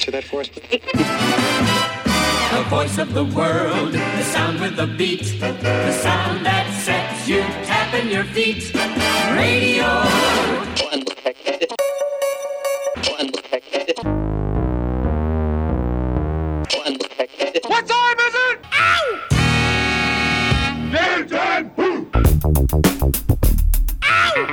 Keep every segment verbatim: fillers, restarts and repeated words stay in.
answer that for us? The voice of the world, the sound with the beat, the sound that sets you tapping your feet. Radio. What time is it? Ow! Game time! Ow!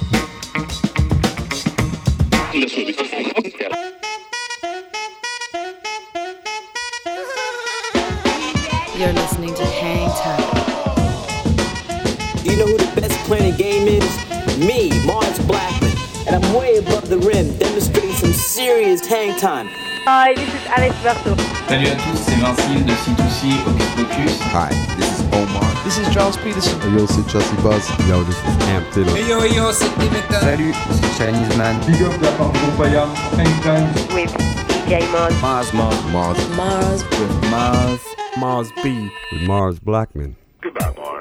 You're listening to Hang Time. Do you know who the best player in the game is? Me, Mars Blackman. And I'm way above the rim, demonstrating some serious hang time. Hi, this is Alex Berto. Salut à tous, c'est Vincile de C two C Hocus Pocus. Hi, this is Omar. This is Charles Peterson. Hey yo, c'est Chelsea Buzz. Yo, this is Cam Taylor. Hey yo, yo, c'est Dimitra. Salut, c'est Chinese Man. Big up la part de Compaya, Hang Time. With D J Mars. Mars, Mars, Mars. Mars. With Mars. Mars B. With Mars Blackman. Goodbye, Mars.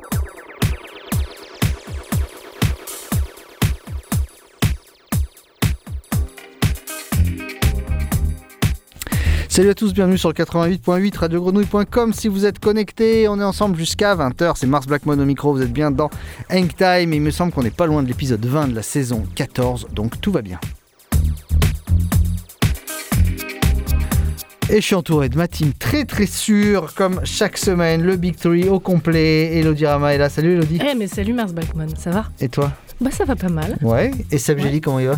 Salut à tous, bienvenue sur le quatre-vingt-huit point huit radio grenouille point com. Si vous êtes connectés, on est ensemble jusqu'à vingt heures. C'est Mars Blackman au micro, vous êtes bien dans Hang Time. Il me semble qu'on n'est pas loin de l'épisode vingt de la saison quatorze, donc tout va bien. Et je suis entouré de ma team très très sûre, comme chaque semaine, le Big Three au complet. Elodie Rama est là. Salut Elodie. Eh hey, mais salut Mars Blackman, ça va? Et toi? Bah ça va pas mal. Ouais, et Seb ouais. Gély, comment il va?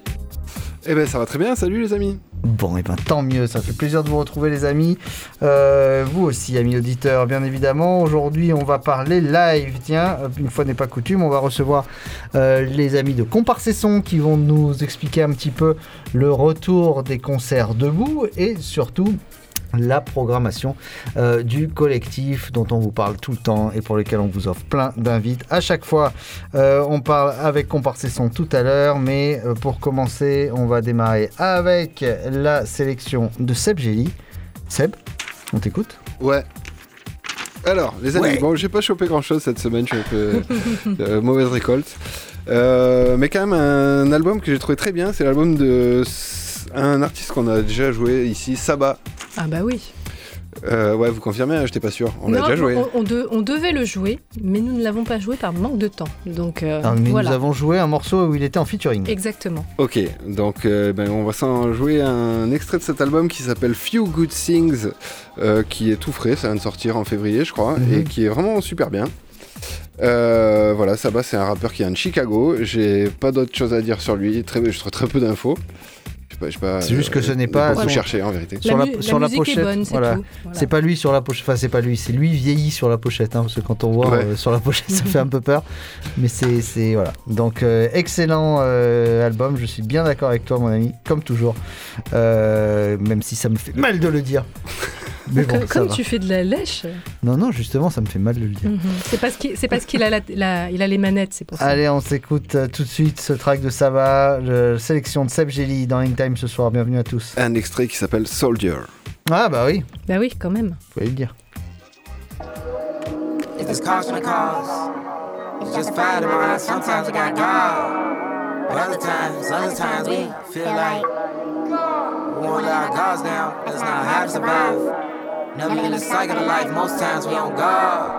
Eh ben ça va très bien, salut les amis. Bon, et ben tant mieux, ça fait plaisir de vous retrouver les amis. Euh, vous aussi, amis auditeurs, bien évidemment. Aujourd'hui, on va parler live. Tiens, une fois n'est pas coutume, on va recevoir euh, les amis de Comparcesson qui vont nous expliquer un petit peu le retour des concerts debout et surtout la programmation euh, du collectif dont on vous parle tout le temps et pour lequel on vous offre plein d'invites à chaque fois. Euh, on parle avec Comparcesson tout à l'heure, mais euh, pour commencer, on va démarrer avec la sélection de Seb Gély. Seb, on t'écoute? Ouais. Alors, les amis, ouais. Bon, j'ai pas chopé grand-chose cette semaine, je suis un peu euh, mauvaise récolte. Euh, mais quand même, un album que j'ai trouvé très bien, c'est l'album de un artiste qu'on a déjà joué ici, Saba. Ah bah oui. Euh, ouais, vous confirmez, hein, j'étais pas sûr. On non, l'a déjà joué. On, on, de, on devait le jouer, mais nous ne l'avons pas joué par manque de temps. Donc, euh, ah, mais voilà. Nous avons joué un morceau où il était en featuring. Exactement. Ok, donc euh, ben, on va s'en jouer un extrait de cet album qui s'appelle Few Good Things, euh, qui est tout frais, ça vient de sortir en février, je crois, mm-hmm. et qui est vraiment super bien. Euh, voilà, Saba, c'est un rappeur qui vient de Chicago. J'ai pas d'autre chose à dire sur lui, très, je trouve très peu d'infos. Pas, pas, c'est juste que ce n'est pas. Pas tout chercher en vérité. La, sur la, mu- sur la la pochette, est bonne, c'est voilà. tout. Voilà. C'est pas lui sur la pochette. Enfin, c'est pas lui. C'est lui vieilli sur la pochette, hein, parce que quand on voit ouais. euh, sur la pochette, ça fait un peu peur. Mais c'est, c'est voilà. Donc euh, excellent euh, album. Je suis bien d'accord avec toi, mon ami, comme toujours. Euh, même si ça me fait mal de le dire. Mais bon, comme comme tu fais de la lèche. Non, non, justement, ça me fait mal de le dire. Mm-hmm. C'est parce qu'il, c'est parce qu'il a, la, la, il a les manettes, c'est pour ça. Allez, on s'écoute euh, tout de suite ce track de Saba, la sélection de Seb Gély dans Hang Time ce soir. Bienvenue à tous. Un extrait qui s'appelle Soldier. Ah bah oui. Bah oui, quand même. Vous pouvez le dire. If it's caution cause, it's just fight in my eyes. Sometimes I got God, but other times, other times we feel like we won't let our guards down. That's not how to survive. Never in the cycle of life, most times we on God.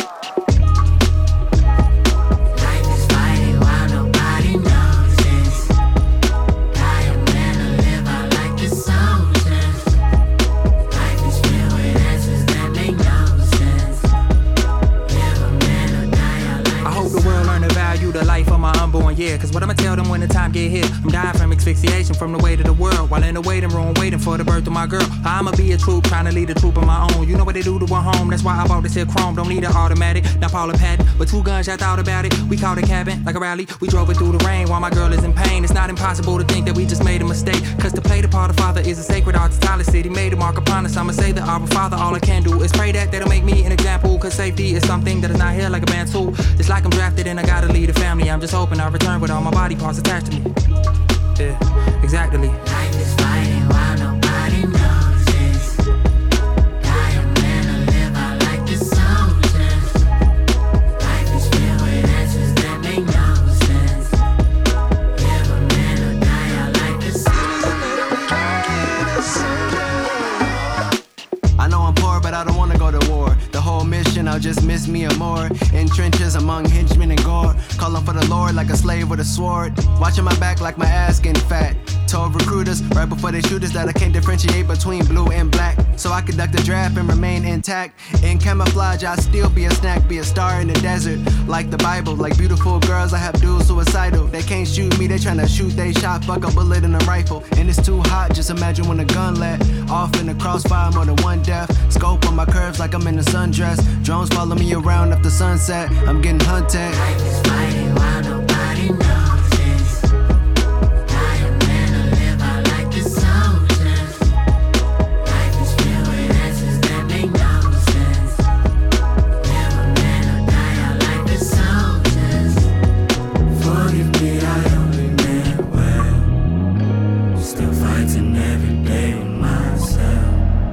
The life of my unborn, yeah. Cause what I'ma tell them when the time get here? I'm dying from asphyxiation from the weight of the world. While in the waiting room, waiting for the birth of my girl. I'ma be a troop, trying to lead a troop of my own. You know what they do to a home, that's why I bought this here chrome. Don't need an automatic, not Paula Patton. But two guns, I thought about it. We called a cabin, like a rally. We drove it through the rain while my girl is in pain. It's not impossible to think that we just made a mistake. Cause to play the part of father is a sacred art. Tyler City made a mark upon us. I'ma say that our father, all I can do is pray that they'll make me an example. Cause safety is something that is not here like a band tool. It's like I'm drafted and I gotta lead a family. I'm just hoping I return with all my body parts attached to me. Yeah, exactly. Life is fighting while nobody notices. Dying men to live out like the soldiers. Life is filled with answers that make no sense. Live a man or die out like the soldiers. I know I'm poor, but I don't wanna go to war. The whole mission, I'll just miss me or more. In trenches among henchmen and gore, calling for the Lord like a slave with a sword. Watching my back like my ass getting fat. Told recruiters right before they shoot us that I can't differentiate between blue and black. So I conduct the draft and remain intact. In camouflage, I'll still be a snack, be a star in the desert. Like the Bible, like beautiful girls, I have dudes suicidal. They can't shoot me, they tryna shoot, they shot, fuck a bullet in a rifle. And it's too hot, just imagine when a gun let off in the crossfire, more than one death. Scope on my curves like I'm in a sundress. Drones follow me around after sunset, I'm getting hunted. Life is fighting while nobody notices. Dying men to live out like the soldiers. Life is filled with answers that make no sense. Live a man or die out like the soldiers. Forgive me, I only meant well. Still fighting every day with myself.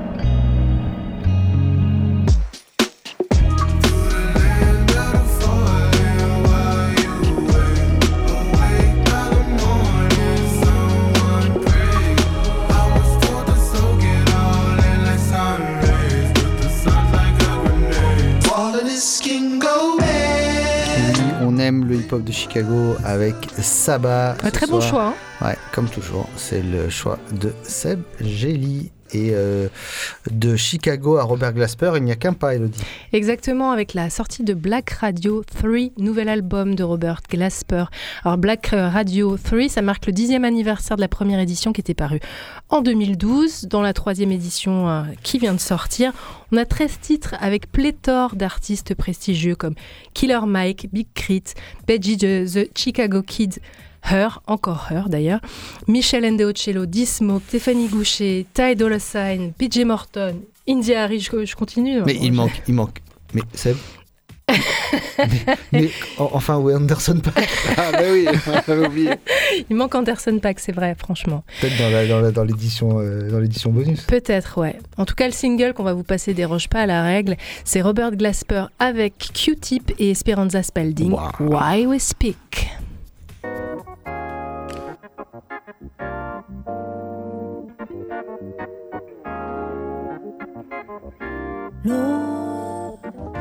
On aime le hip-hop de Chicago avec Saba. Un très bon soir. choix. Hein. Ouais, comme toujours, c'est le choix de Seb Gély. Et euh, de Chicago à Robert Glasper, il n'y a qu'un pas, Elodie. Exactement, avec la sortie de Black Radio trois, nouvel album de Robert Glasper. Alors Black Radio trois, ça marque le dixième anniversaire de la première édition qui était parue en deux mille douze. Dans la troisième édition euh, qui vient de sortir, on a treize titres avec pléthore d'artistes prestigieux comme Killer Mike, Big Crit, Benji de The Chicago Kid, Her, encore Her d'ailleurs, Michel Ndeocello, D-Smoke, Tiffany Goucher, Ty Dolla $ign, P J Morton, India Harry, je, je continue. Mais il manque, il manque. Mais Seb mais, mais enfin, oui, Anderson .Paak. Ah bah oui, j'avais oublié. Il manque Anderson .Paak, c'est vrai, franchement. Peut-être dans, la, dans, la, dans, l'édition, euh, dans l'édition bonus. Peut-être, ouais. En tout cas, le single qu'on va vous passer déroge pas à la règle. C'est Robert Glasper avec Q-Tip et Esperanza Spalding. Wow. Why We Speak. Lord,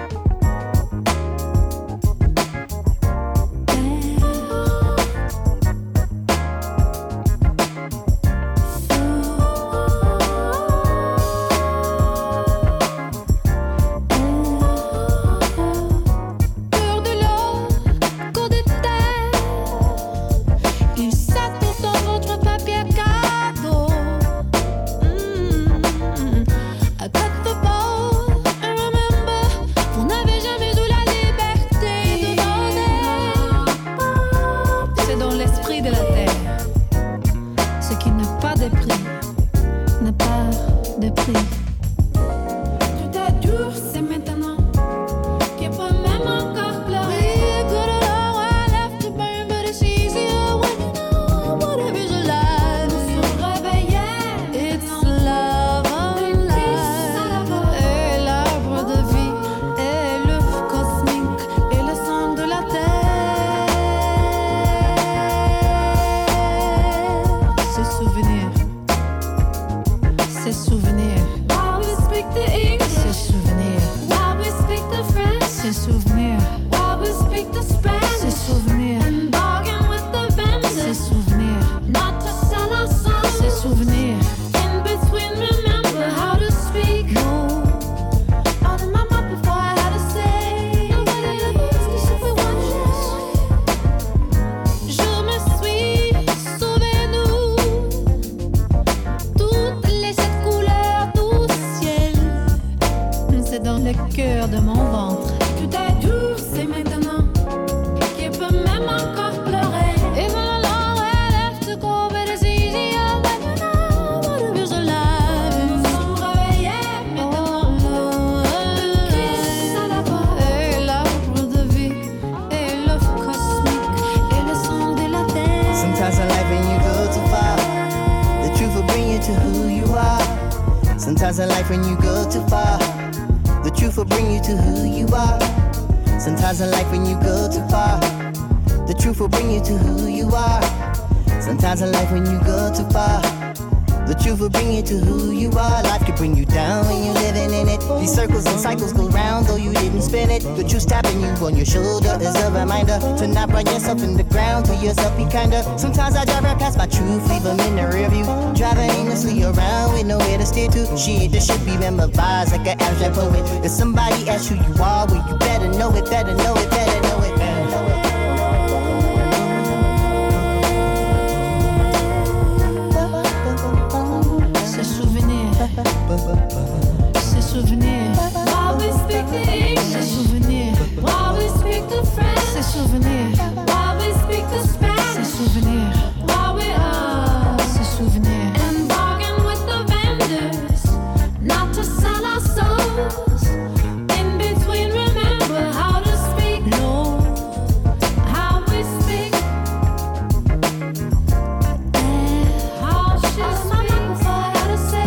Sometimes in life when you go too far, the truth will bring you to who you are. Sometimes in life when you go too far, the truth will bring you to who you are. Sometimes in life when you go too far, The truth will bring you to who you are. Life could bring you down when you're living in it. These circles and cycles go round though you didn't spin it. The truth tapping you on your shoulder is a reminder to not run yourself in the ground, to yourself be kinder. Sometimes I drive right past my truth, leave them in the rear view. Driving aimlessly around with nowhere to steer to. Shit, this should be memorized like an abstract poet. If somebody asks who you are, well you better know it, better know it, better know it, better know it. Ces souvenirs, ces souvenirs. While we speak the English, ces souvenirs. While we speak the French, ces souvenirs. While we speak the Spanish, ces souvenirs. While we are, ces souvenirs. And bargain with the vendors, not to sell our souls. In between, remember how to speak. No, how we speak. How she speaks. How to say.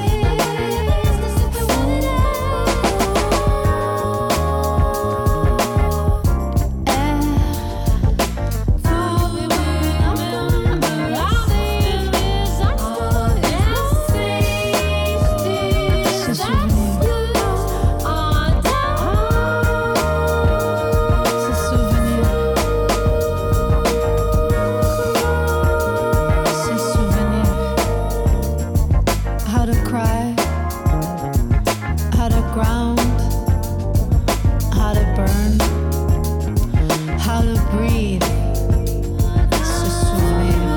How to cry, how to ground, how to burn, how to breathe. Se souvenir.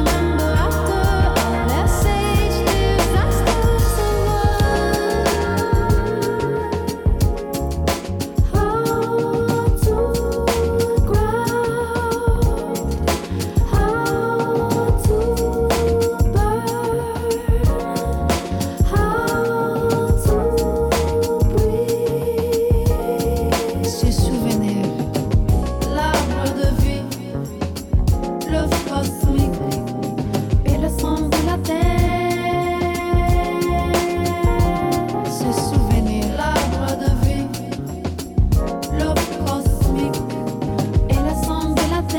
Se souvenir. L'arbre de vie, l'œuf cosmique et le sang de la terre. Se souvenir. L'arbre de vie, l'œuf cosmique et le sang de la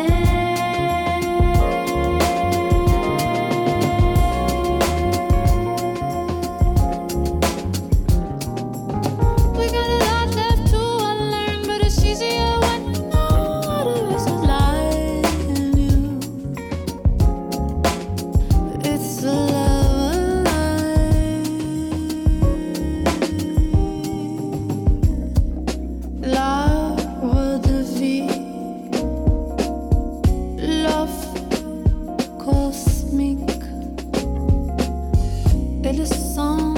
We got a lot left to unlearn, but it's easier when you know what it is alive in you. It's the love alive. L'arbre de vie, l'œuf cosmique et le sang.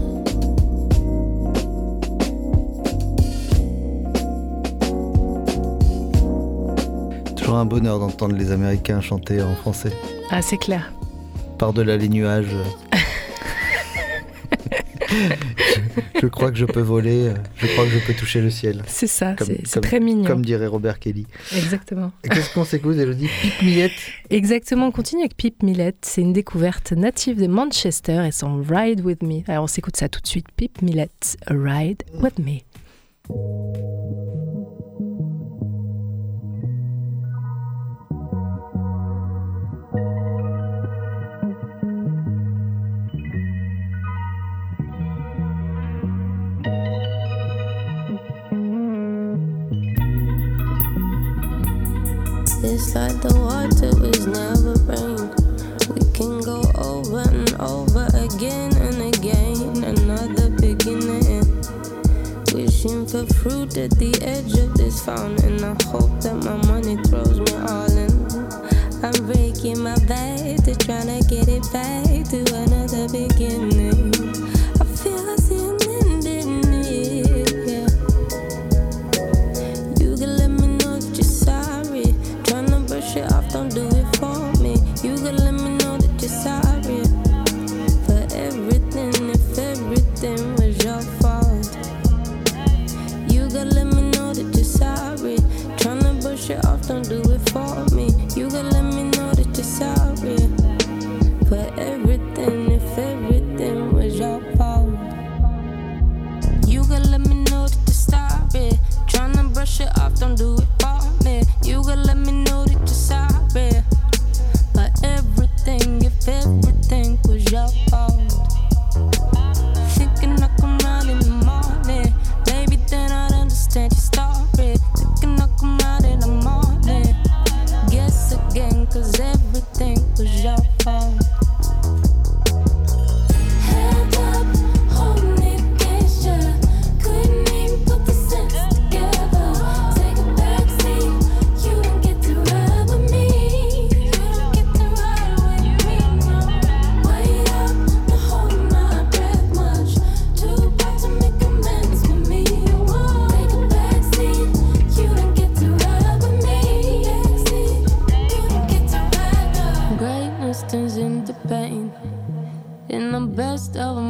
Toujours un bonheur d'entendre les Américains chanter en français. Ah, c'est clair. Par-delà les nuages. je, je crois que je peux voler, je crois que je peux toucher le ciel. C'est ça, Comme- c'est c'est comme- très mignon. Comme dirait Robert Kelly. Exactement. Et qu'est-ce qu'on s'écoute, Elodie? Pip Millette. Exactement, on continue avec Pip Millette. C'est une découverte native de Manchester et son Ride With Me. Alors on s'écoute ça tout de suite. Pip Millette, Ride With Me. It's like the water was never rain. We can go over and over again and again. Another beginning. Wishing for fruit at the edge of this fountain. I hope that my money throws me all in. I'm breaking my back to tryna get it back to another beginning. I feel I see an end in it, yeah. You can let me know if you're sorry. Tryna brush it off, don't do it for me. You can let me know that you're sorry for everything, if everything was your fault. You gotta let me know that you're sorry. Tryna brush it off, don't do it for me. You gotta let me know that you're sorry for everything, if everything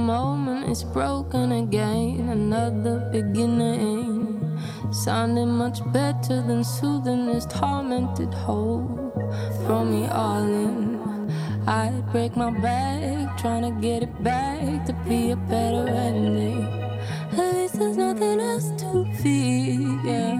moment it's broken again, another beginning. Sounding much better than soothing this tormented hole. Throw me all in. I'd break my back trying to get it back to be a better ending. At least there's nothing else to fear.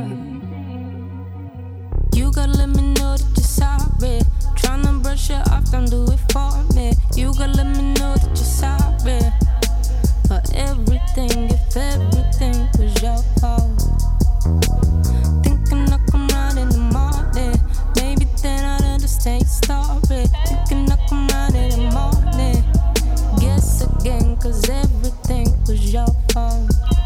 You gotta let me know that you're sorry. Tryna brush it off, don't do it for me. You gotta let me know that you're sorry for everything, if everything was your fault. Thinking I'll come round in the morning, maybe then I'd understand your story. Thinking I'll come round in the morning, guess again, cause everything was your fault.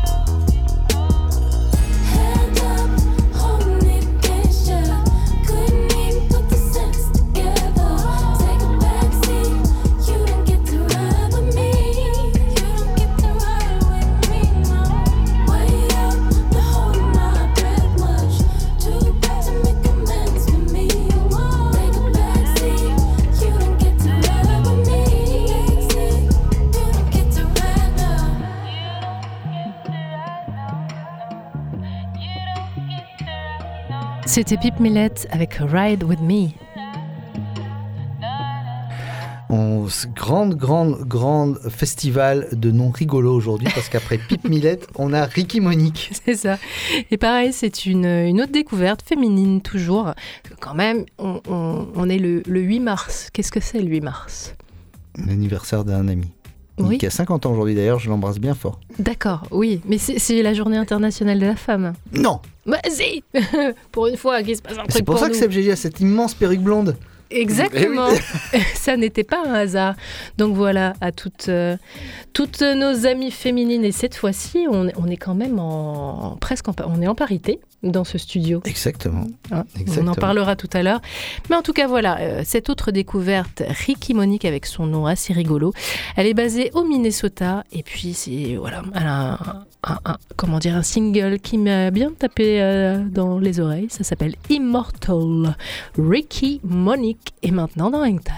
C'était Pip Millet avec Ride With Me. On, grande, grande, grande festival de noms rigolos aujourd'hui parce qu'après Pip Millet, on a Ricky Monique. C'est ça. Et pareil, c'est une, une autre découverte féminine toujours. Quand même, on, on, on est le, le huit mars. Qu'est-ce que c'est le huit mars ? L'anniversaire d'un ami. Oui. Qui a cinquante ans aujourd'hui d'ailleurs, je l'embrasse bien fort. D'accord, oui, mais c'est, c'est la journée internationale de la femme. Non. Bah si. Pour une fois qu'il se passe un truc C'est pour, pour ça nous. que Seb G G a cette immense perruque blonde. Exactement, Eh oui. Ça n'était pas un hasard. Donc voilà, à toutes, euh, toutes nos amies féminines. Et cette fois-ci, on, on est quand même en, presque en, on est en parité dans ce studio. Exactement. Hein, Exactement. on en parlera tout à l'heure. Mais en tout cas, voilà, euh, cette autre découverte, Ricky Monique, avec son nom assez rigolo. Elle est basée au Minnesota. Et puis, c'est, voilà, elle a un, un, un, comment dire, un single qui m'a bien tapé euh, dans les oreilles. Ça s'appelle Immortal. Ricky Monique est maintenant dans Hang Time.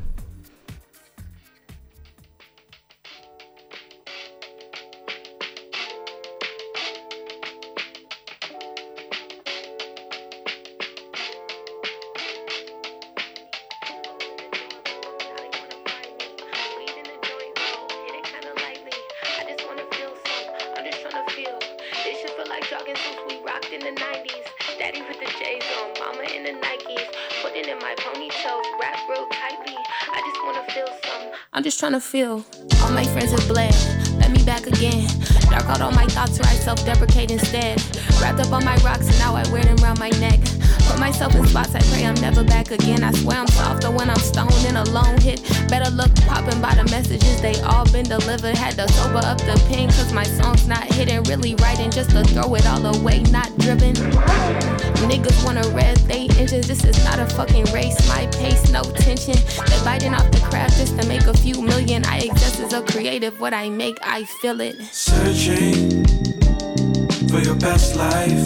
I'm just trying to feel. All my friends have bled. Let me back again. Dark out all my thoughts where I self-deprecate instead. Wrapped up on my rocks and now I wear them around my neck. Put myself in spots I pray I'm never back again. I swear I'm softer when I'm stoned in a lone hit. Better look popping by the messages, they all been delivered. Had to sober up the pen cause my song's not hidden. Really writing just to throw it all away, not driven. Niggas wanna rev they engines, this is not a fucking race. My pace, no tension. They're biting off the craft just to make a few million. I exist as a creative, what I make, I feel it. Searching for your best life.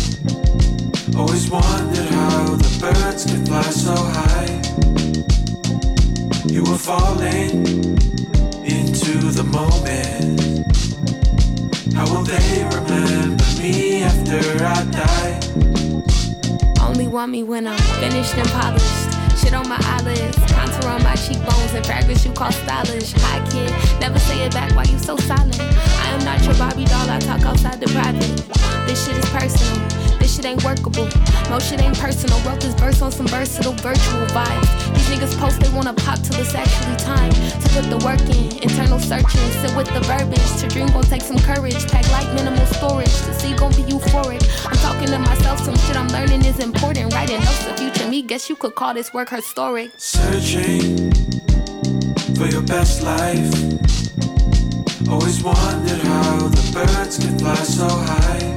Always wondered how the birds could fly so high. You were falling into the moment. How will they remember me after I die? Only want me when I'm finished and polished. Shit on my eyelids, contour on my cheekbones, and fragrance you call stylish. Hi kid, never say it back, why you so silent? I am not your Barbie doll, I talk outside the private. This shit is personal, this shit ain't workable. Most shit ain't personal, wrote this verse on some versatile virtual vibes. These niggas post they wanna pop till it's actually time to put the work in, internal searching, sit with the verbiage. To dream gon' take some courage, pack like minimal storage. To see gon' be euphoric. I'm talking to myself, some shit I'm learning is important. Writing notes of future me, guess you could call this work historic. Searching for your best life. Always wondered how the birds could fly so high.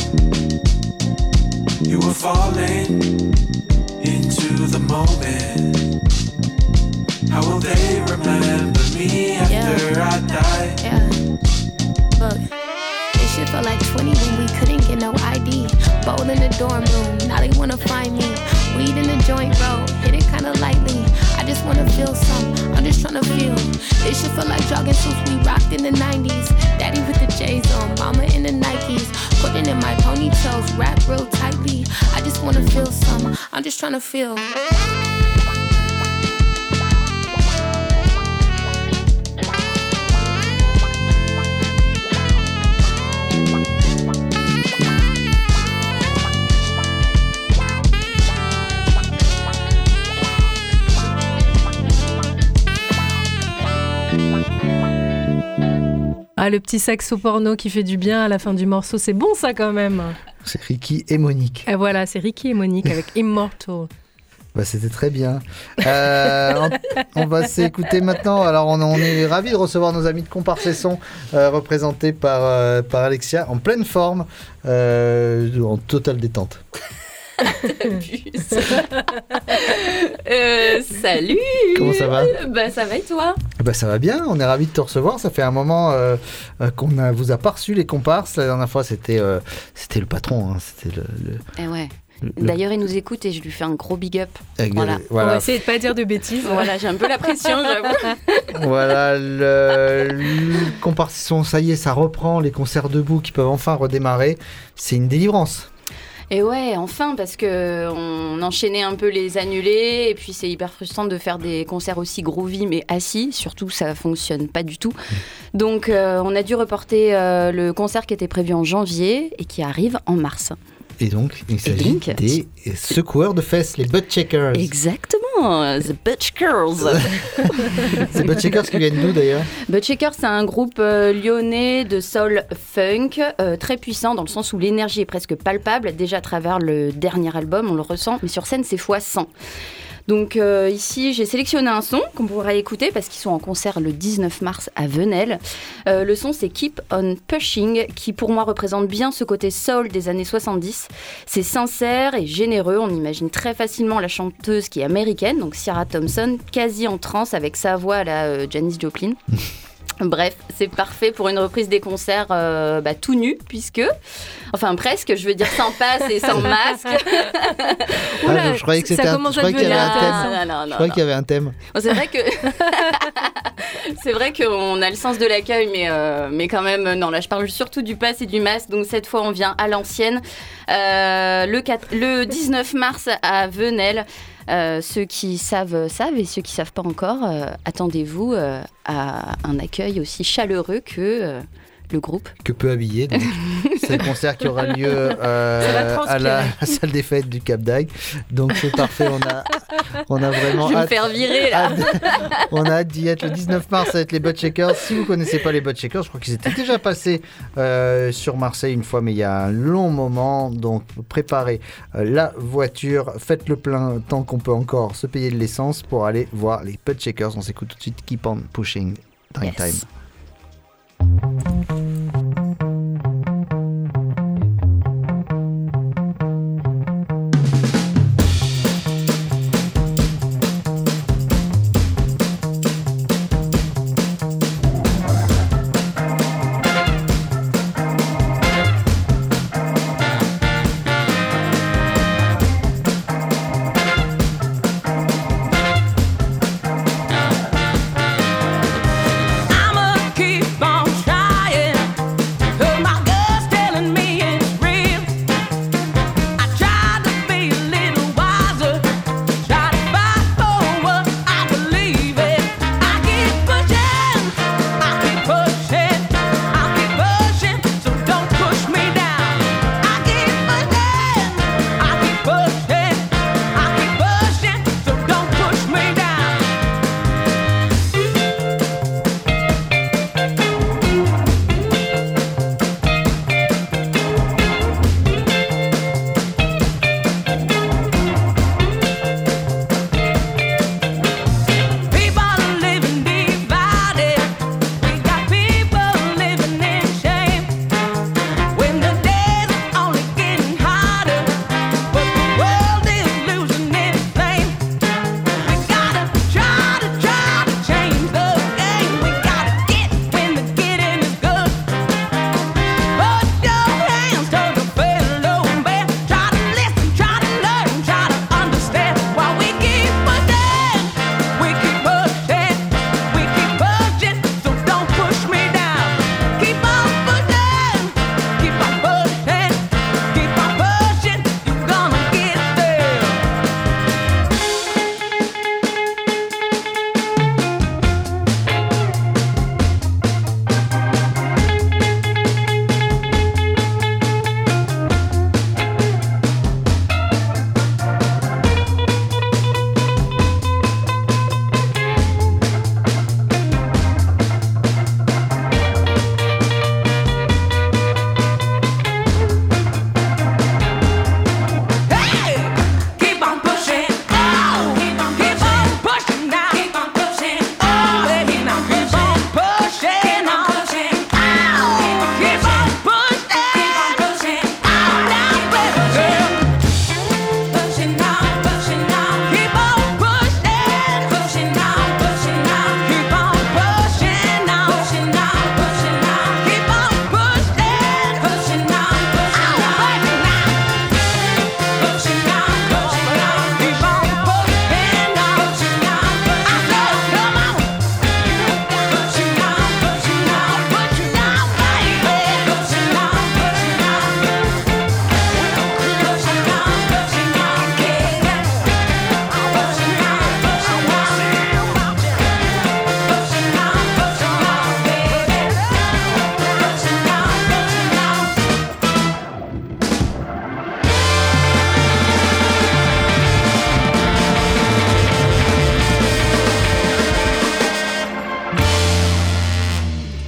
You were falling into the moment. How will they remember me after yeah. I die? Yeah. Look, this shit felt like twenty when we couldn't get no I D. Bowl in the dorm room, now they wanna find me. Weed in the joint road, hit it kinda lightly. I just wanna feel some, I'm just tryna feel. This shit feel like jogging suits we rocked in the nineties. Daddy with the J's on, mama in the Nikes. Putting in my ponytails, wrap real tightly. I just wanna feel some, I'm just trying to feel. Ah, le petit saxo porno qui fait du bien à la fin du morceau, c'est bon ça quand même. C'est Ricky et Monique. Et voilà, c'est Ricky et Monique avec Immortal. Bah, c'était très bien. Euh, on, on va s'écouter maintenant. Alors, on, on est ravis de recevoir nos amis de Comparses et Sons, euh, représentés par, euh, par Alexia, en pleine forme, euh, en totale détente. euh, salut. Comment ça va? Bah ça va et toi? Bah ça va bien, on est ravis de te recevoir. Ça fait un moment euh, euh, qu'on a, vous a pas reçu les comparses. La dernière fois c'était, euh, c'était le patron, hein. C'était le, le... Eh ouais. Le... D'ailleurs, il nous écoute et je lui fais un gros big up. Avec voilà. voilà. On va essayer de pas dire de bêtises. Voilà, j'ai un peu la pression, j'avoue. Voilà, le, le comparses et Sons, ça y est, ça reprend. Les concerts debout qui peuvent enfin redémarrer. C'est une délivrance. Et ouais, enfin, parce que on enchaînait un peu les annulés, et puis c'est hyper frustrant de faire des concerts aussi groovy, mais assis, surtout ça fonctionne pas du tout. Donc euh, on a dû reporter euh, le concert qui était prévu en janvier, et qui arrive en mars. Et donc, il s'agit donc, des secoueurs de fesses, les butt checkers. Exactement, the butt checkers. C'est butt checkers qui viennent d'où d'ailleurs? Butt checkers, c'est un groupe euh, lyonnais de soul funk, euh, très puissant dans le sens où l'énergie est presque palpable. Déjà à travers le dernier album, on le ressent, mais sur scène, c'est fois cent. Donc euh, ici, j'ai sélectionné un son qu'on pourra écouter parce qu'ils sont en concert le dix-neuf mars à Venelle. Euh, le son, c'est Keep on Pushing, qui pour moi représente bien ce côté soul des années soixante-dix. C'est sincère et généreux. On imagine très facilement la chanteuse qui est américaine, donc Ciara Thompson, quasi en transe avec sa voix à la euh, Janis Joplin. Bref, c'est parfait pour une reprise des concerts euh, bah, tout nu, puisque... Enfin, presque, je veux dire sans passe et sans masque. Oula, ah, je croyais que c'était un, je croyais qu'il y avait un thème. Non, non, non, je croyais qu'il y avait un thème. Bon, c'est vrai que... c'est vrai qu'on a le sens de l'accueil, mais, euh, mais quand même, non, là, je parle surtout du pass et du masque. Donc, cette fois, on vient à l'ancienne. Euh, le, quatre... le dix-neuf mars à Venelle. Euh, ceux qui savent, savent, et ceux qui ne savent pas encore, euh, attendez-vous euh, à un accueil aussi chaleureux que euh, le groupe. Que peu habillé. Donc. C'est le concert qui aura lieu euh, à la salle des fêtes du Cap d'Agde. Donc c'est parfait, on a, on a vraiment Je vais hâte, me faire virer là. hâte, on a hâte d'y être le dix-neuf mars avec les Butt Checkers. Si vous ne connaissez pas les Butt Checkers, je crois qu'ils étaient déjà passés euh, sur Marseille une fois, mais il y a un long moment. Donc préparez euh, la voiture, faites le plein tant qu'on peut encore se payer de l'essence pour aller voir les Butt Checkers. On s'écoute tout de suite Keep on Pushing, Time yes. Time. I'm a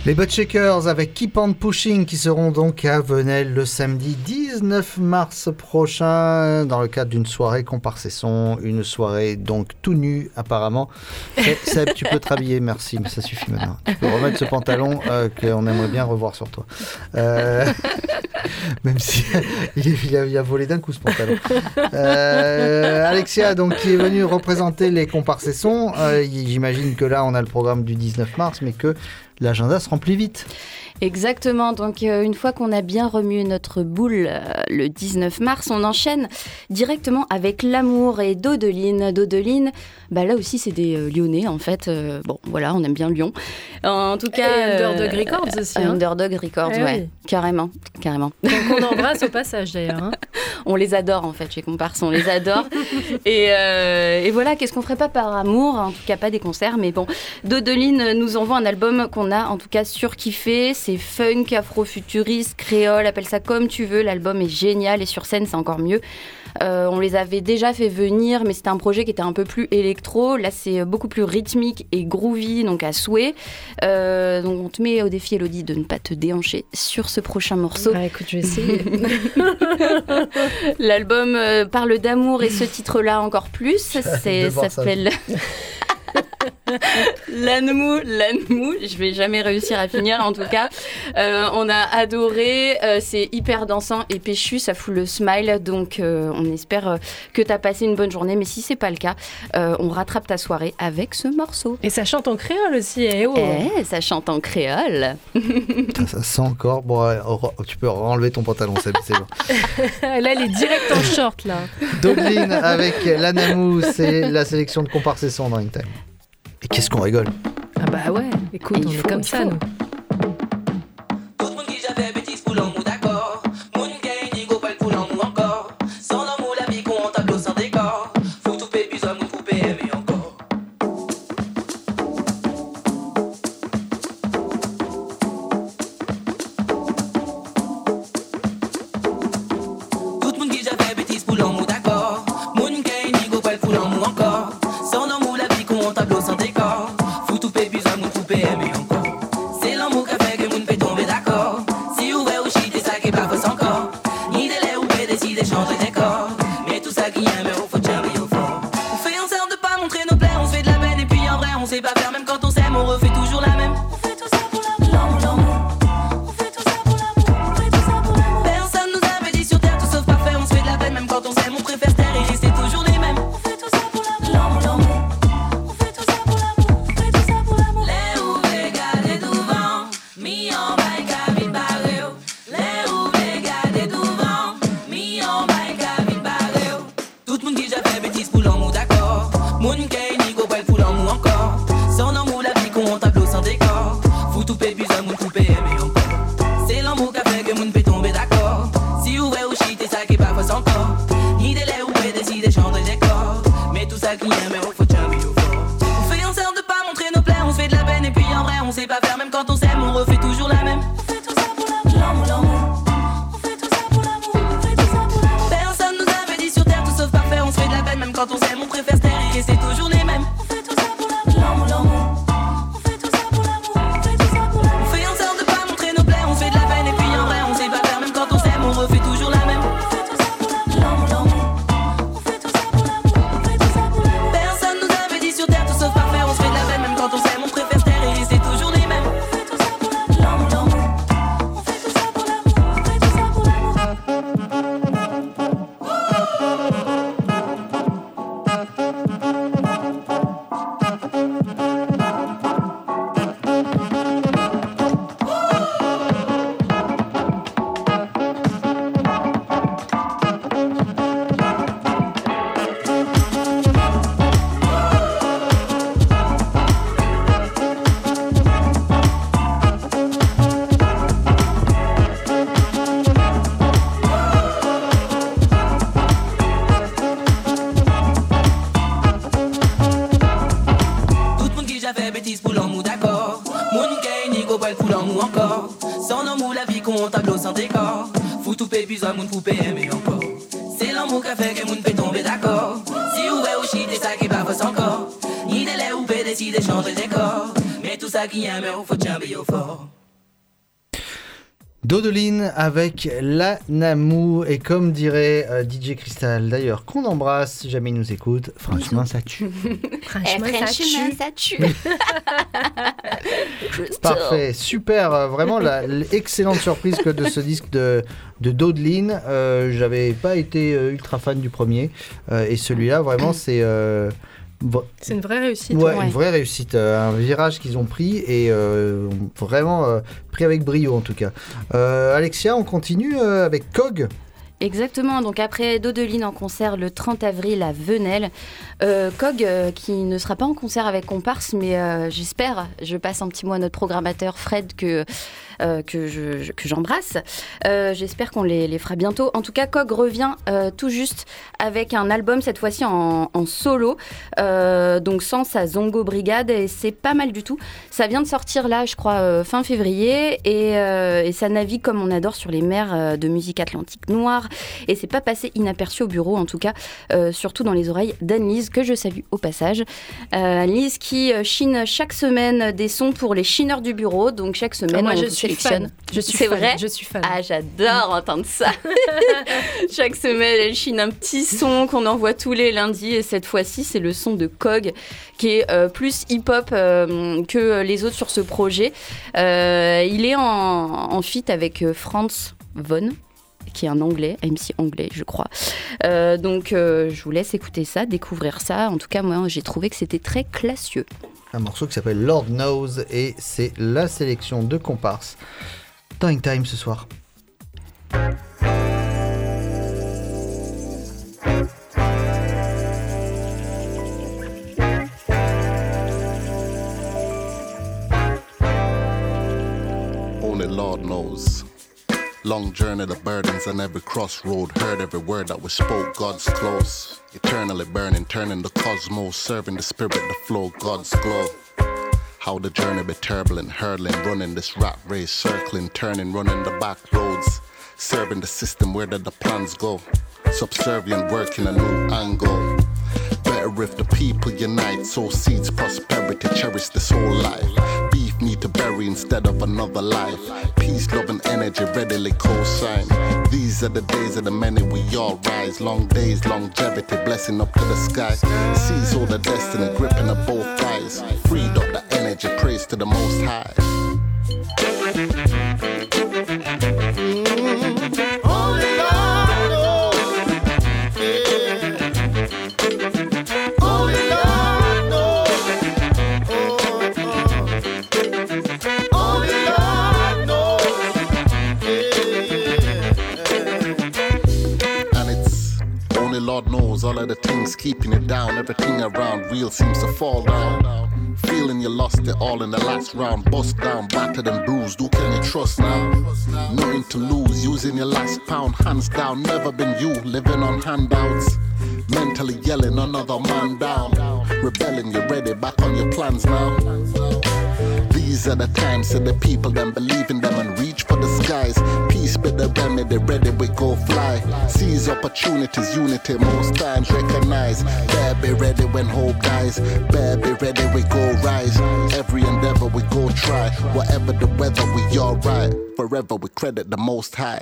Les Buttshakers avec Keep on Pushing qui seront donc à Venelle le samedi dix-neuf mars prochain dans le cadre d'une soirée comparse et son, une soirée donc tout nu apparemment. Seb, tu peux te rhabiller, merci, mais ça suffit maintenant. Tu peux remettre ce pantalon euh, qu'on aimerait bien revoir sur toi. Euh, même si il, est, il, a, il a volé d'un coup ce pantalon. Euh, Alexia donc qui est venue représenter les comparses et son. Euh, j'imagine que là on a le programme du dix-neuf mars, mais que l'agenda se remplit vite. Exactement, donc euh, une fois qu'on a bien remué notre boule euh, le dix-neuf mars, on enchaîne directement avec L'Amour et Dodeline. Dodeline, bah là aussi c'est des euh, Lyonnais en fait, euh, bon voilà, on aime bien Lyon. En tout cas... Et Underdog euh, Records aussi. Hein. Underdog Records, eh ouais, oui. carrément, carrément. Donc on embrasse au passage d'ailleurs. Hein. On les adore en fait chez Comparse, on les adore. et, euh, et voilà, qu'est-ce qu'on ferait pas par amour, en tout cas pas des concerts, mais bon, Dodeline nous envoie un album qu'on a en tout cas surkiffé. C'est funk, afro-futuriste, créole, appelle ça comme tu veux. L'album est génial et sur scène, c'est encore mieux. Euh, on les avait déjà fait venir, mais c'était un projet qui était un peu plus électro. Là, c'est beaucoup plus rythmique et groovy, donc à souhait. Euh, donc, on te met au défi, Elodie, de ne pas te déhancher sur ce prochain morceau. Ah, écoute, je vais essayer. L'album euh, parle d'amour et ce titre-là encore plus. C'est, ça s'appelle... L'Anmou, l'Anmou, je vais jamais réussir à finir en tout cas. Euh, on a adoré, euh, c'est hyper dansant et péchu, ça fout le smile, donc euh, on espère euh, que t'as passé une bonne journée, mais si c'est pas le cas, euh, on rattrape ta soirée avec ce morceau. Et ça chante en créole aussi, eh oh. Eh, ça chante en créole. Putain, ça sent encore. Bon, ouais, tu peux enlever ton pantalon, c'est, c'est bon. Là, elle est direct en short là. Dodeline avec l'Anamou, c'est la sélection de Comparse et son dans Time. Et qu'est-ce qu'on rigole. Ah bah ouais, écoute, on est comme ça, nous. Qui aime, il faut jamais au fort. Dodeline avec la Namou, et comme dirait euh, D J Crystal d'ailleurs, qu'on embrasse si jamais il nous écoute, franchement ça tue. franchement, eh, franchement ça tue. Parfait, super, euh, vraiment la, l'excellente surprise que de ce disque de, de Dodeline. Euh, j'avais pas été euh, ultra fan du premier, euh, et celui-là vraiment c'est... Euh, C'est une vraie réussite. Ouais, ouais. une vraie réussite. Euh, un virage qu'ils ont pris et euh, vraiment euh, pris avec brio en tout cas. Euh, Alexia, on continue euh, avec Cog. Exactement, donc après Dodeline en concert le trente avril à Venelle, euh, Cog euh, qui ne sera pas en concert avec Comparse, mais euh, j'espère, je passe un petit mot à notre programmateur Fred que, euh, que, je, je, que j'embrasse, euh, j'espère qu'on les, les fera bientôt. En tout cas, Cog revient euh, tout juste avec un album, cette fois-ci en, en solo, euh, donc sans sa Zongo Brigade, et c'est pas mal du tout. Ça vient de sortir là, je crois, euh, fin février, et, euh, et ça navigue comme on adore sur les mers euh, de musique atlantique noire. Et c'est pas passé inaperçu au bureau, en tout cas, euh, surtout dans les oreilles d'Anne-Lise, que je salue au passage. Euh, Anne-Lise qui euh, chine chaque semaine des sons pour les chineurs du bureau, donc chaque semaine ah, moi, on je vous suis sélectionne. Fan. Je suis c'est fan. vrai Je suis fan. Ah, j'adore entendre ça. Chaque semaine, elle chine un petit son qu'on envoie tous les lundis, et cette fois-ci, c'est le son de Cog, qui est euh, plus hip-hop euh, que les autres sur ce projet. Euh, il est en, en feat avec euh, Franz Von, qui est un anglais, M C anglais, je crois. Euh, donc, euh, je vous laisse écouter ça, découvrir ça. En tout cas, moi, j'ai trouvé que c'était très classieux. Un morceau qui s'appelle Lord Knows, et c'est la sélection de Comparse dans Hang Time ce soir. Only Lord knows. Long journey, the burdens on every crossroad. Heard every word that was spoke, God's close. Eternally burning, turning the cosmos. Serving the spirit, the flow, God's glow. How the journey be turbulent, hurtling, running this rat race. Circling, turning, running the back roads. Serving the system, where did the plans go? Subservient, working a new angle. Better if the people unite. Sow seeds, prosperity, cherish this whole life. Beef need to bury instead of another life. Peace, love and energy readily co-sign. These are the days of the many, we all rise. Long days, longevity, blessing up to the sky. Seize all the destiny, gripping up both thighs. Freed up the energy, praise to the Most High. Lord knows all of the things keeping it down. Everything around real seems to fall down. Feeling you lost it all in the last round. Bust down, battered and bruised. Who can you trust now? Nothing to lose, using your last pound. Hands down, never been you, living on handouts. Mentally yelling another man down. Rebelling, you ready, back on your plans now. These are the times that the people then believe in them and reach for the skies. Peace be the remedy, ready we go fly. Seize opportunities, unity most times recognize. Bear be ready when hope dies. Bear be ready we go rise. Every endeavor we go try. Whatever the weather we alright. Forever we credit the Most High.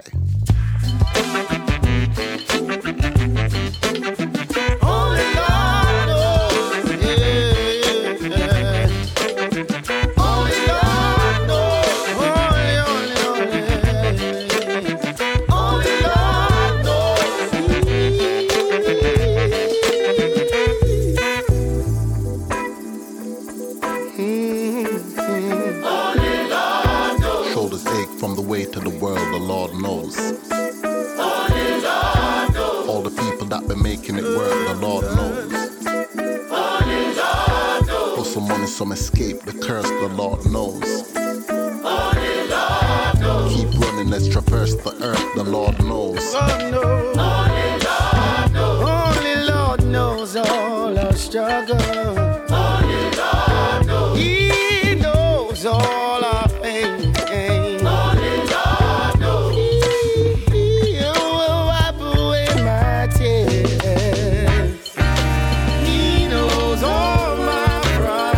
To the world, the Lord knows. Only Lord knows. All the people that been making it work, the Lord knows. Only Lord knows. For some money, some escape, the curse, the Lord knows. Only Lord knows. Keep running, let's traverse the earth, the Lord knows. Lord knows. Only Lord knows. Only Lord knows all our struggle. Only Lord knows. He knows all our pain.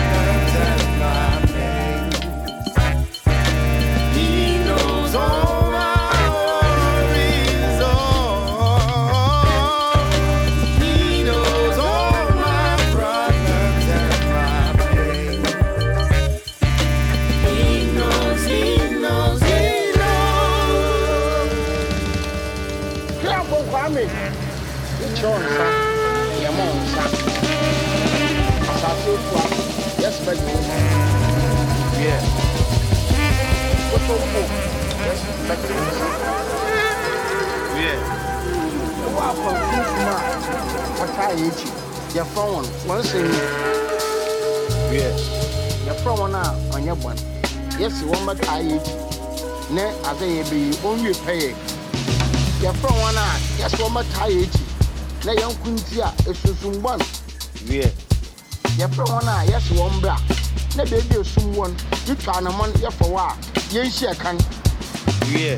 He knows all Mami, it's your son. Your mom's son. Yes, but yeah. What's so cool? Yes, but yeah. Wow, for Christmas, what I eat, your phone, one thing. Yeah. Your phone now on your one. Yes, you want my tie eat. Ne, I say, be only pay. Your phone one now, yes, one my tie eat. Ne, young Quintia, if you soon one. Yeah. Your phone one now, yes, one black. Ne, baby, someone, you try a month here for a while. Yes, I can. Yeah.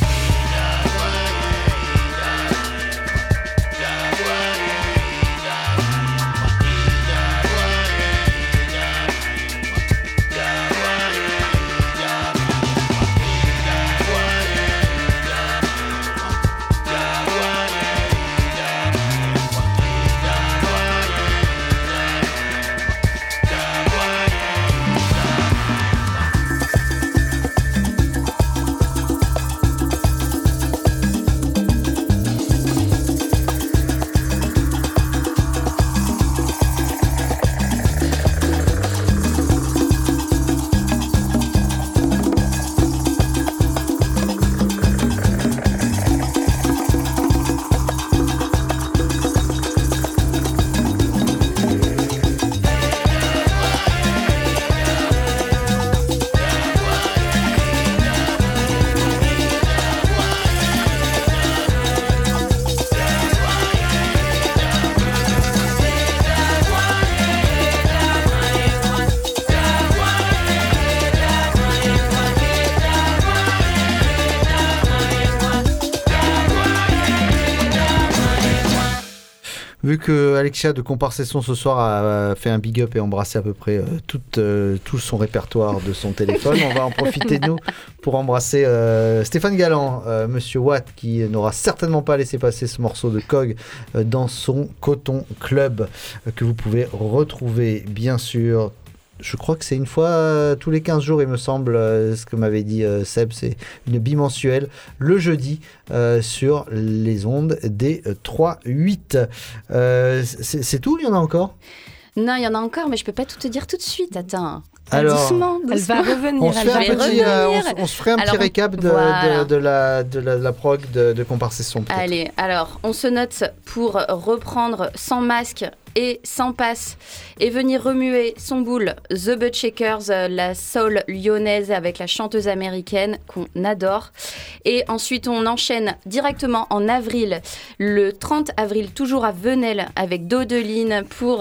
Vu que Alexia de Comparsesson ce soir a fait un big up et embrassé à peu près euh, tout, euh, tout son répertoire de son téléphone, on va en profiter nous pour embrasser euh, Stéphane Galland, euh, Monsieur Watt, qui n'aura certainement pas laissé passer ce morceau de Cog euh, dans son Coton Club, euh, que vous pouvez retrouver bien sûr. Je crois que c'est une fois euh, tous les quinze jours, il me semble, euh, ce que m'avait dit euh, Seb, c'est une bimensuelle, le jeudi, euh, sur les ondes des euh, trois huit. Euh, c'est, c'est tout, il y en a encore ? Non, il y en a encore, mais je peux pas tout te dire tout de suite, attends. Alors, doucement, doucement. Elle va revenir. On se, fait elle un va petit, euh, on, revenir. on se ferait un Alors, petit récap de, voilà. de, de, la, de, la, de la prog de, de Comparsesson. Peut-être. Allez, alors, on se note pour reprendre sans masque et sans passe et venir remuer son boule The Butt Shakers, la soul lyonnaise avec la chanteuse américaine qu'on adore. Et ensuite, on enchaîne directement en avril, le trente avril, toujours à Venelle avec Dodeline pour...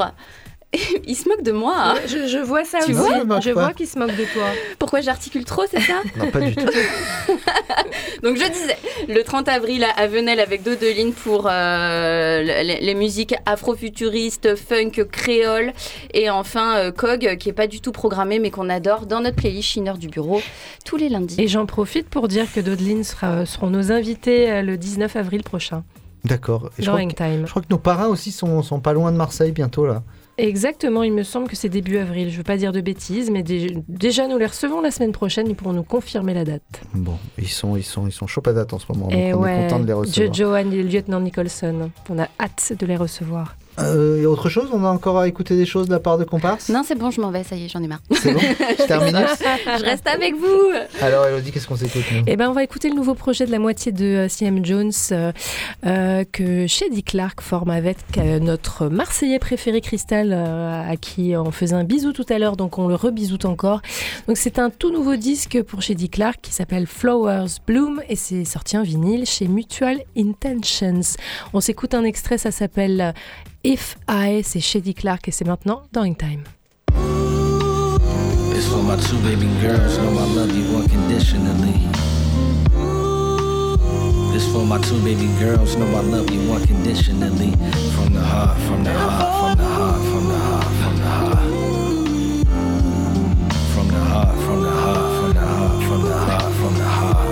Il se moque de moi. Hein. Je, je vois ça tu aussi. Vois je vois qu'il se moque de toi. Pourquoi j'articule trop, c'est ça ? Non, pas du tout. Donc je disais, le trente avril à Venelle avec Dodeline pour euh, les, les musiques afrofuturistes, funk, créole. Et enfin, euh, Cog, qui n'est pas du tout programmé, mais qu'on adore dans notre playlist Chineur du Bureau tous les lundis. Et j'en profite pour dire que Dodeline sera, seront nos invités le dix-neuf avril prochain. D'accord. Et je, dans crois Hangtime. que, je crois que nos parrains aussi sont, sont pas loin de Marseille bientôt, là. Exactement, il me semble que c'est début avril. Je ne veux pas dire de bêtises, mais dé- déjà nous les recevons la semaine prochaine. Ils pourront nous confirmer la date. Bon, ils sont, ils sont, ils sont chauds patates en ce moment. Et donc on ouais, est content de les recevoir. Jojo et le lieutenant Nicholson. On a hâte de les recevoir. Euh, et autre chose, on a encore à écouter des choses de la part de Comparse ? Non, c'est bon, je m'en vais, ça y est, j'en ai marre. C'est bon, c'est terminé. Je reste avec vous. Alors Elodie, qu'est-ce qu'on s'écoute nous ? Eh ben, on va écouter le nouveau projet de la moitié de euh, C M Jones euh, euh, que Shady Clark forme avec euh, notre Marseillais préféré Cristal, euh, à qui on faisait un bisou tout à l'heure, donc on le rebisoute encore. Donc c'est un tout nouveau disque pour Shady Clark qui s'appelle Flowers Bloom et c'est sorti en vinyle chez Mutual Intentions. On s'écoute un extrait, ça s'appelle If I, c'est Shady Clark et c'est maintenant dans Hangtime. It's for my two baby girls, know I love you unconditionally. It's for my two baby girls, know I love you unconditionally. From the heart, from the heart, from the heart, from the heart, from the heart. From the heart, from the heart, from the heart, from the heart, from the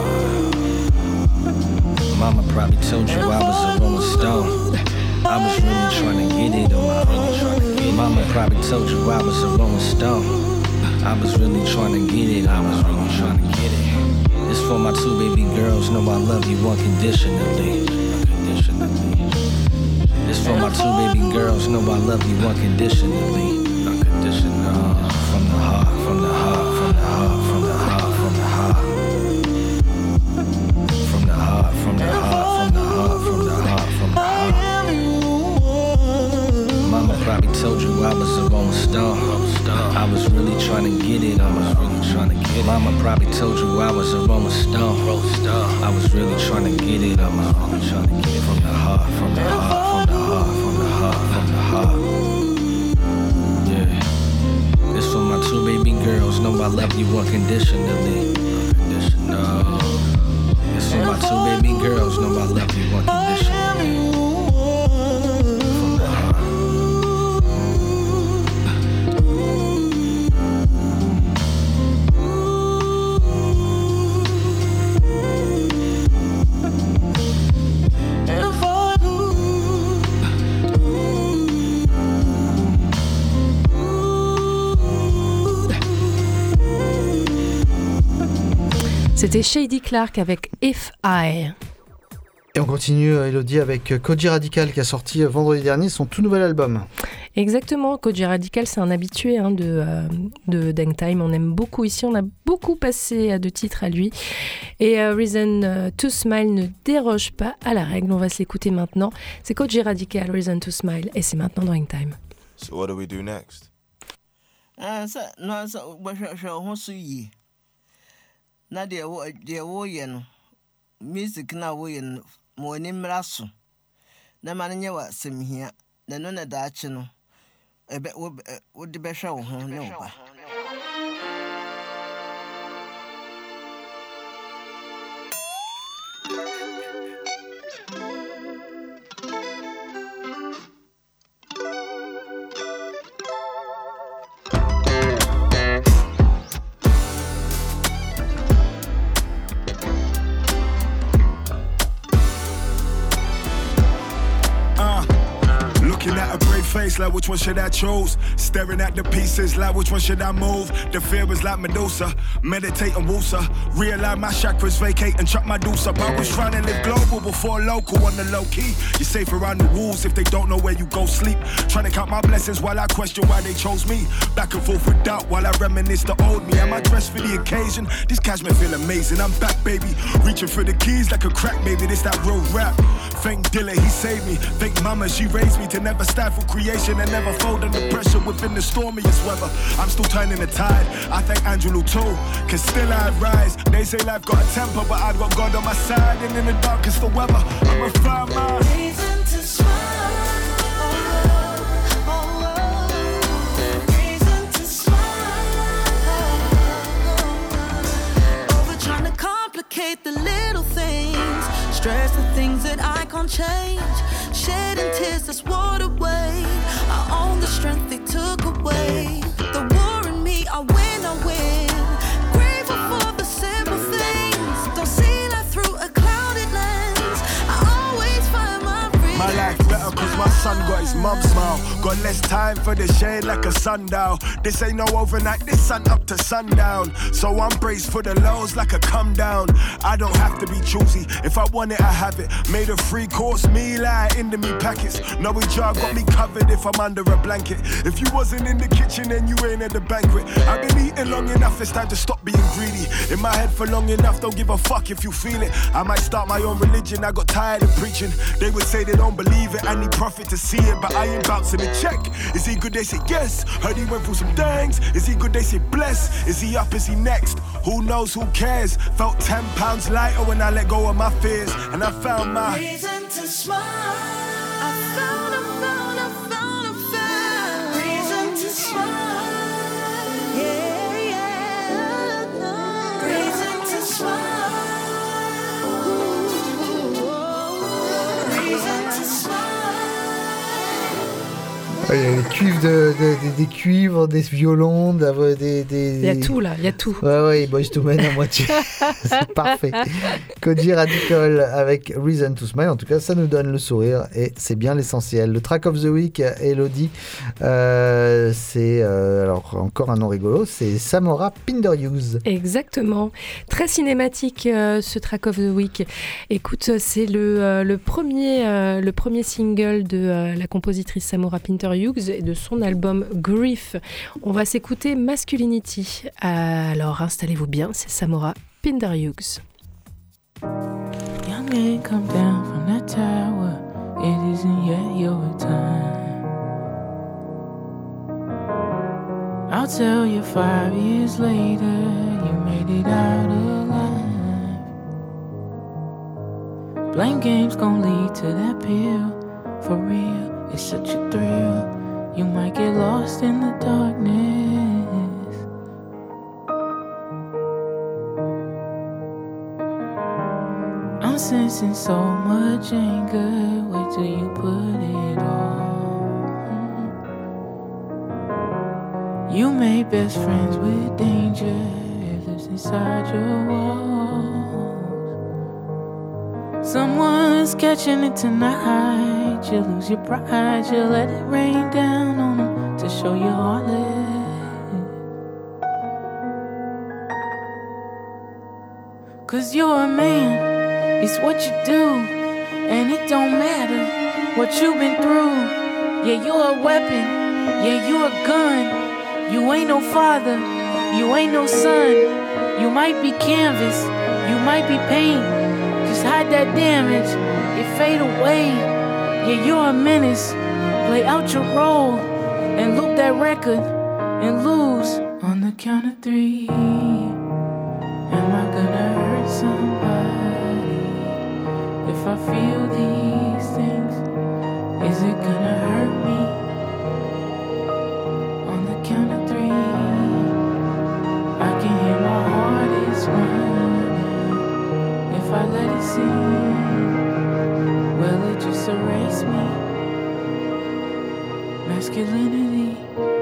heart. Mama probably told you I was a rolling stone. I was really trying to get it on my own. Mama probably told you I was a rolling stone. I was really trying to get it, I was really trying to get it. It's for my two baby girls, know I love you unconditionally. unconditionally. This for my two baby girls, know I love you unconditionally. Unconditional. From the heart, from the heart, from the heart, from the heart, from the heart. From the heart, from the heart, from the heart, from the heart, from the heart. Mama probably told you I was a rolling stone. I was really trying to get it, I was really trying to get it. Mama probably told you I was a rolling stone. I was really trying to get it, I was really trying to get it. From the heart, from the heart, from the heart, from the heart, from the heart. Yeah. This for my two baby girls, know I love you unconditionally. Unconditional. This for my two baby girls, know I love you unconditionally. C'était Shady Clark avec If I. Et on continue, Elodie, avec Kojey Radical qui a sorti vendredi dernier son tout nouvel album. Exactement, Kojey Radical, c'est un habitué hein, de, euh, de Dangtime. On aime beaucoup ici, on a beaucoup passé à deux titres à lui. Et euh, Reason euh, to Smile ne déroge pas à la règle. On va se l'écouter maintenant. C'est Kojey Radical, Reason to Smile, et c'est maintenant Dangtime. So what do we do next? Uh, so, no, so, but sure, sure, what's you? Na deɛ wo deɛ woyɛ no music na woyɛ no ma w'ani mmra so na ma no nyɛ w'asɛm hia na no na daakye no ɛbɛ wode bɛhwɛ wo ho ne wo ba. Face like which one should I choose? Staring at the pieces like which one should I move? The fear is like Medusa, meditate and woosa. Realign my chakras, vacate and chuck my deuce up. I was trying to live global before local on the low key. You're safe around the wolves if they don't know where you go sleep. Trying to count my blessings while I question why they chose me. Back and forth with doubt while I reminisce the old me. Am I dressed for the occasion? These cashmere feel amazing. I'm back, baby. Reaching for the keys like a crack, baby. This that real rap. Thank Dilla, he saved me. Thank Mama, she raised me to never stand for creation and never fold under pressure within the stormiest weather. I'm still turning the tide. I thank Angelo too, cause still I rise. They say life got a temper, but I got God on my side. And in the darkest of weather, I'm a fire my reason to smile. Reason to smile. Over trying to complicate the little things. Stress the things that I can't change. Shedding tears, that's what away. I own the strength they took away. The war in me, I win, I win. Grateful for the simple things. Don't see life through a clouded lens. I always find my freedom. My life better cause my son got his mum's smile. Got less time for the shade like a sundial. This ain't no overnight, this sun up to sundown. So I'm braced for the lows like a come down. I don't have to be choosy, if I want it I have it. Made a free course meal out into me packets. Knowing jar got me covered if I'm under a blanket. If you wasn't in the kitchen then you ain't at the banquet. I've been eating long enough, it's time to stop being greedy. In my head for long enough, don't give a fuck if you feel it. I might start my own religion, I got tired of preaching. They would say they don't believe it, I need profit to see it. But I ain't bouncing a check. Is he good? They say yes. Heard he went through some things. Is he good? They say bless. Is he up? Is he next? Who knows? Who cares? Felt ten pounds lighter when I let go of my fears. And I found my reason to smile. I found, I found, I found, I found reason to smile. Yeah, yeah. Reason to smile. Ooh, reason to smile. Il y a des cuivres, de, de, de, des, cuivres des violons, des, des, des... Il y a tout là, il y a tout. Ouais, ouais, Boyz two Men à moitié. C'est parfait. Kojey Radical avec Reason to Smile. En tout cas, ça nous donne le sourire et c'est bien l'essentiel. Le track of the week, Elodie, euh, c'est euh, alors encore un nom rigolo, c'est Samora Pinderhughes. Exactement. Très cinématique euh, ce track of the week. Écoute, c'est le, euh, le, premier, euh, le premier single de euh, la compositrice Samora Pinderhughes et de son album Grief. On va s'écouter Masculinity. Alors installez-vous bien, c'est Samora Pinderhughes. Young man, come down from that tower. It isn't yet your time. I'll tell you five years later, you made it out alive. Blame games gon' lead to that pill, for real. It's such a thrill, you might get lost in the darkness. I'm sensing so much anger, wait till you put it on. You made best friends with danger, it lives inside your walls. Someone's catching it tonight. You lose your pride, you let it rain down on them to show you heartless. Cause you're a man, it's what you do, and it don't matter what you've been through. Yeah, you're a weapon, yeah, you're a gun. You ain't no father, you ain't no son. You might be canvas, you might be paint. Just hide that damage, it fade away. Yeah, you're a menace, play out your role and loop that record and lose. On the count of three, am I gonna hurt somebody? If I feel these things, is it gonna hurt me? On the count of three, I can hear my heart is running. If I let it sing, will it just erase me? Masculinity.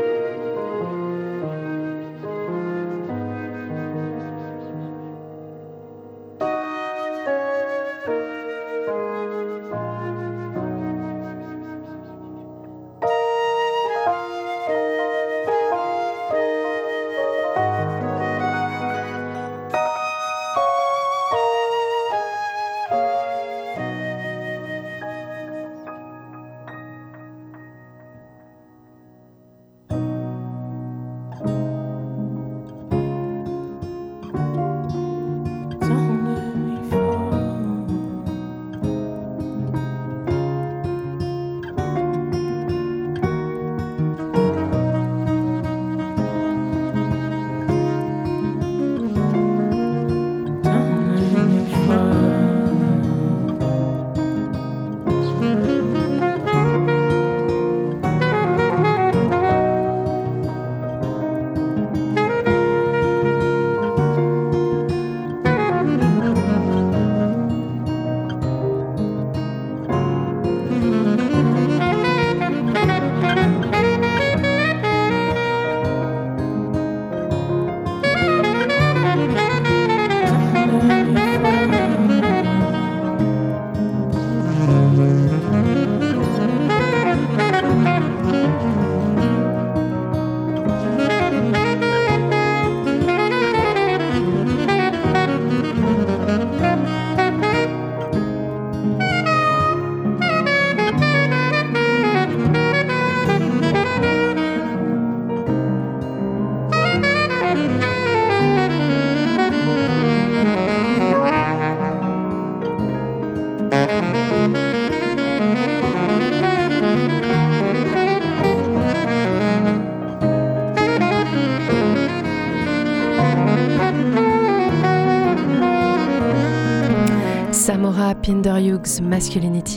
Samora Pinderhughes, Masculinity.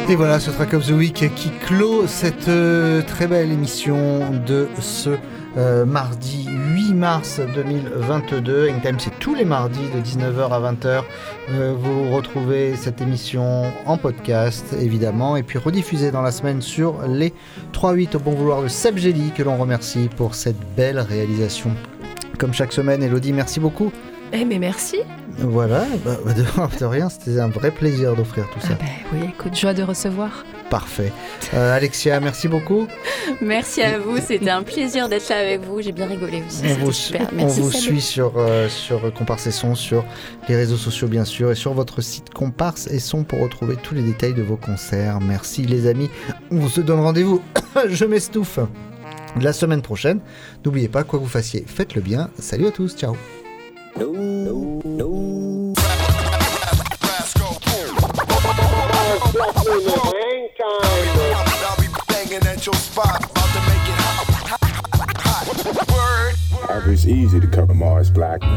Et voilà, ce Track of the Week qui clôt cette euh, très belle émission de ce euh, mardi huit mars deux mille vingt-deux. Hangtime, c'est tous les mardis de dix-neuf heures à vingt heures. Euh, vous retrouvez cette émission en podcast, évidemment, et puis rediffusée dans la semaine sur les trois huit au bon vouloir de Seb Gély, que l'on remercie pour cette belle réalisation. Comme chaque semaine, Elodie, merci beaucoup. Eh mais merci. Voilà, bah, bah de, de rien, c'était un vrai plaisir d'offrir tout ça. Ah bah oui, écoute, joie de recevoir. Parfait. Euh, Alexia, merci beaucoup. Merci à vous, c'était un plaisir d'être là avec vous, j'ai bien rigolé aussi, on c'était vous, super. on Merci vous Seb. suit sur, euh, sur Comparse et Son, sur les réseaux sociaux bien sûr, et sur votre site Comparse et Son pour retrouver tous les détails de vos concerts. Merci les amis, on se donne rendez-vous, je m'estouffe, la semaine prochaine. N'oubliez pas, quoi que vous fassiez, faites-le bien. Salut à tous, ciao. No, no, no. It's easy to cover Mars Blackman.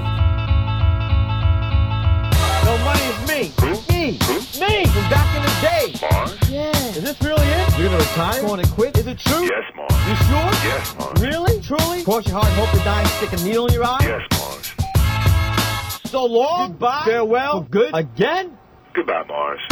No, money's me. Me. Me from back in the day. Mars? Yeah. Is this really it? You're gonna retire? Going to quit? Is it true? Yes, Mars. You sure? Yes, Mars. Really? Truly? Cross your heart and hope to die and stick a needle in your eye? Yes, Mars. So long. Goodbye. Farewell. For good. Again? Goodbye, Mars.